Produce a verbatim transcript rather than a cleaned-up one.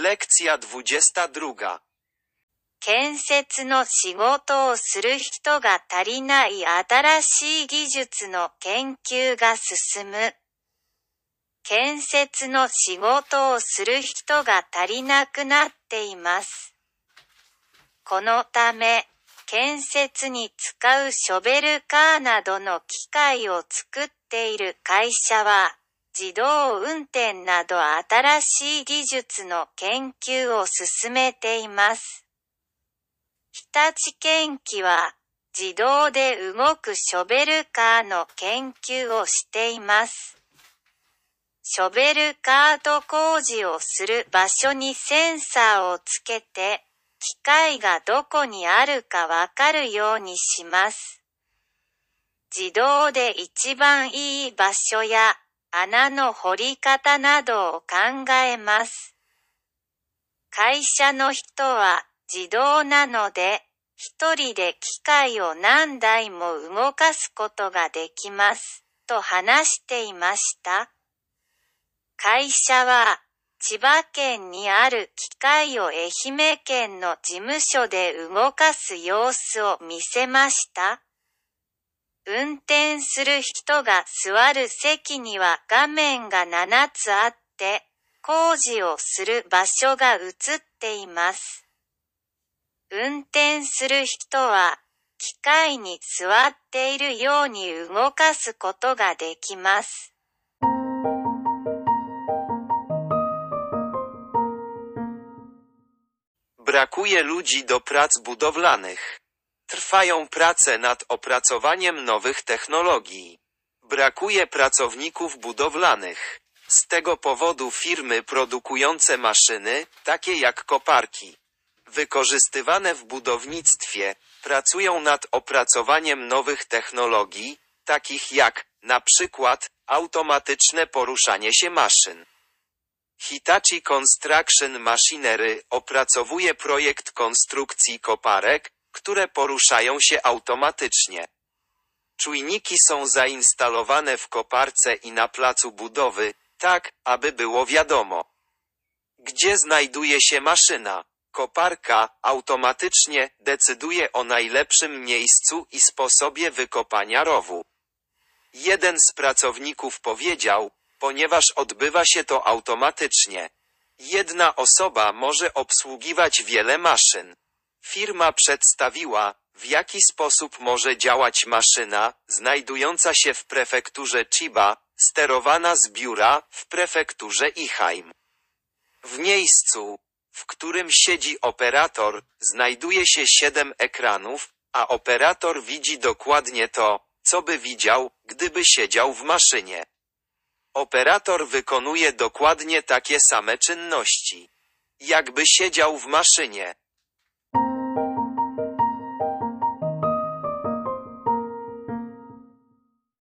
Lekcja dwudziesta druga. 建設の仕事をする人が足りない新しい技術の研究が進む。建設の仕事をする人が足りなくなっています。このため、建設に使うショベルカーなどの機械を作っている会社は、自動運転など新しい技術の研究を進めています。日立建機は、自動で動くショベルカーの研究をしています。ショベルカート工事をする場所にセンサーをつけて、機械がどこにあるかわかるようにします。自動で一番いい場所や穴の掘り方などを考えます。会社の人は自動なので、一人で機械を何台も動かすことができます、と話していました。会社は、千葉県にある機械を愛媛県の事務所で動かす様子を見せました。運転する人が座る席には画面がななつあって、工事をする場所が映っています。運転する人は、機械に座っているように動かすことができます。 Brakuje ludzi do prac budowlanych. Trwają prace nad opracowaniem nowych technologii. Brakuje pracowników budowlanych. Z tego powodu firmy produkujące maszyny, takie jak koparki, wykorzystywane w budownictwie, pracują nad opracowaniem nowych technologii, takich jak, na przykład, automatyczne poruszanie się maszyn. Hitachi Construction Machinery opracowuje projekt konstrukcji koparek, które poruszają się automatycznie. Czujniki są zainstalowane w koparce i na placu budowy, tak, aby było wiadomo, gdzie znajduje się maszyna. Koparka automatycznie decyduje o najlepszym miejscu i sposobie wykopania rowu. Jeden z pracowników powiedział, ponieważ odbywa się to automatycznie. Jedna osoba może obsługiwać wiele maszyn. Firma przedstawiła, w jaki sposób może działać maszyna, znajdująca się w prefekturze Chiba, sterowana z biura w prefekturze Iheim. W miejscu, w którym siedzi operator, znajduje się siedem ekranów, a operator widzi dokładnie to, co by widział, gdyby siedział w maszynie. Operator wykonuje dokładnie takie same czynności, jakby siedział w maszynie.